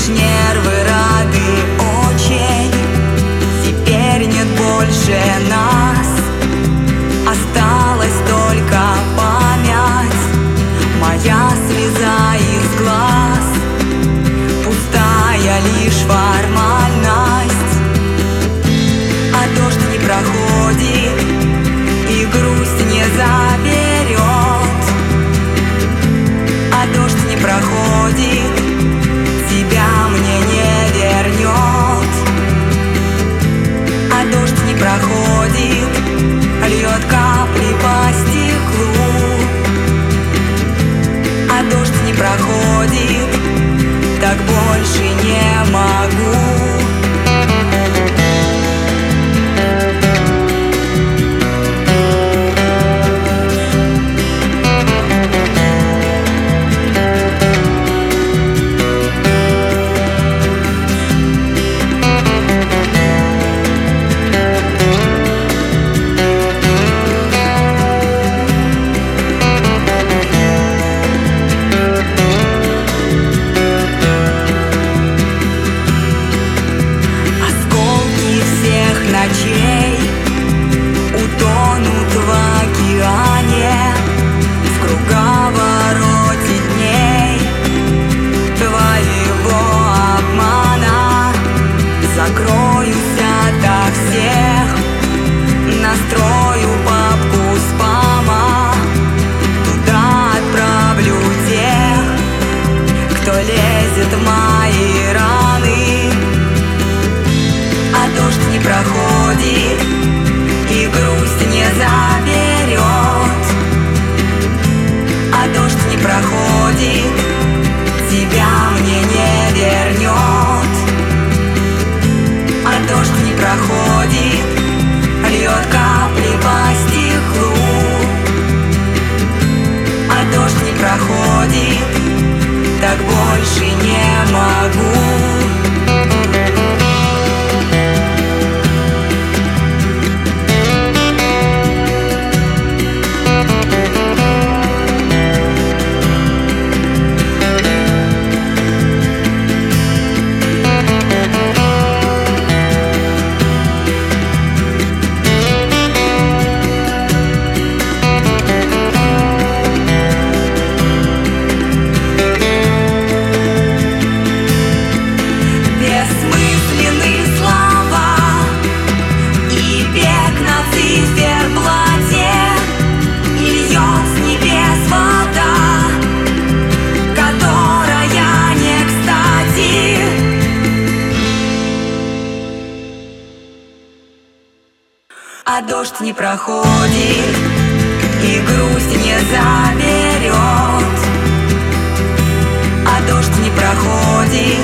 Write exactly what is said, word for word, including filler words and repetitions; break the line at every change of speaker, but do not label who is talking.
нервы рады очень. Теперь нет больше нас, осталась только память. Моя слеза из глаз, пустая лишь формальность. А дождь не проходит, и грусть не заберет. А дождь не проходит, тебя мне не вернет. А дождь не проходит, льет капли по стеклу. А дождь не проходит, так больше не могу. Утонут в океане, в круговороте дней твоего обмана. Закроюсь ото всех, настрою папку спама. Туда отправлю тех, кто лезет в мои раны. А дождь не проходит, и грусть не заберет. А дождь не проходит, тебя мне не вернет. А дождь не проходит, льет капли по стеклу. А дождь не проходит, так больше не могу. А дождь не проходит, и грусть не заберет. А дождь не проходит,